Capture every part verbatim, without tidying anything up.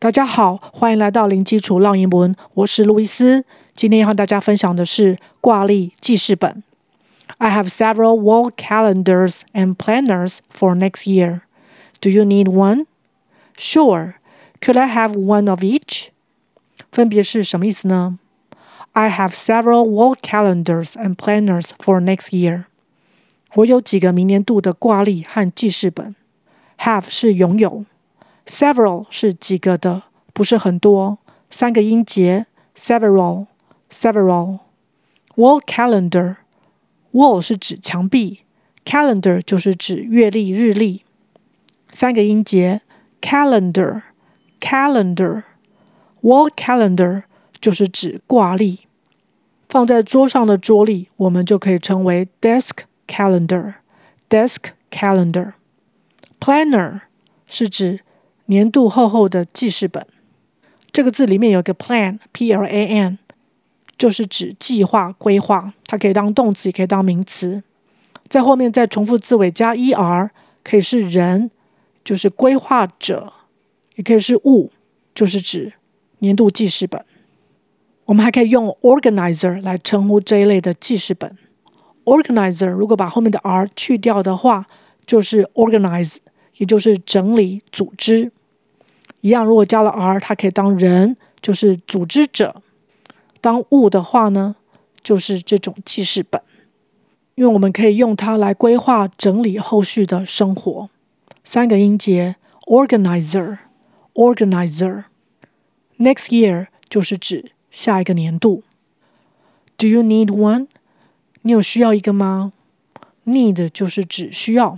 大家好，歡迎來到零基礎繞英文，我是路易斯。今天要和大家分享的是掛曆記事本。I have several wall calendars and planners for next year. Do you need one? Sure. Could I have one of each? 分別是什麼意思呢？ I have several wall calendars and planners for next year. 我有幾個明年度的掛曆和記事本。Have 是擁有。Several 是幾個的，不是很多，三個音節 several several wall calendar wall 是指牆壁 calendar 就是指月曆日曆，三個音節 calendar calendar wall calendar 就是指掛曆，放在桌上的桌曆我們就可以稱為 desk calendar desk calendar planner 是指年度厚厚的記事本，這個字裡面有一個 plan P L A N 就是指計劃規劃，它可以當動詞也可以當名詞，在後面再重複字尾加 er 可以是人，就是規劃者，也可以是物，就是指年度記事本。我們還可以用 organizer 來稱呼這一類的記事本。 organizer 如果把後面的 r 去掉的話就是 organize， 也就是整理組織。一樣，如果加了 r 它可以當人，就是組織者，當物的話呢就是這種記事本，因為我們可以用它來規劃整理後續的生活。三個音節 organizer organizer next year 就是指下一個年度。 Do you need one? 你有需要一個嗎？ Need 就是指需要。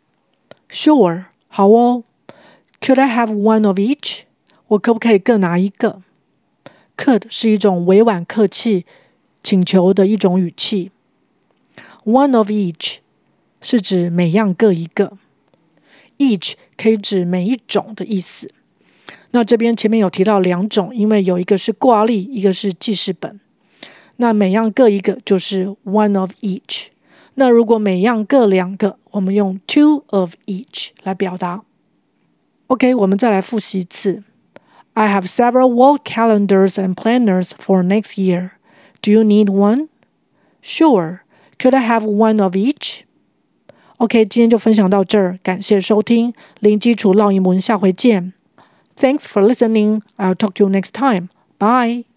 Sure 好哦。Could I have one of each? 我可不可以各拿一個？ Could 是一種委婉客氣請求的一種語氣。One of each 是指每樣各一個。Each 可以指每一種的意思。那這邊前面有提到兩種，因為有一個是掛曆，一個是記事本。那每樣各一個就是 one of each。那如果每樣各兩個，我們用 two of each 來表達。OK， 我們再來複習一次。I have several wall calendars and planners for next year. Do you need one? Sure. Could I have one of each? OK， 今天就分享到這兒，感謝收聽，零基礎繞英文，下回見。Thanks for listening. I'll talk to you next time. Bye.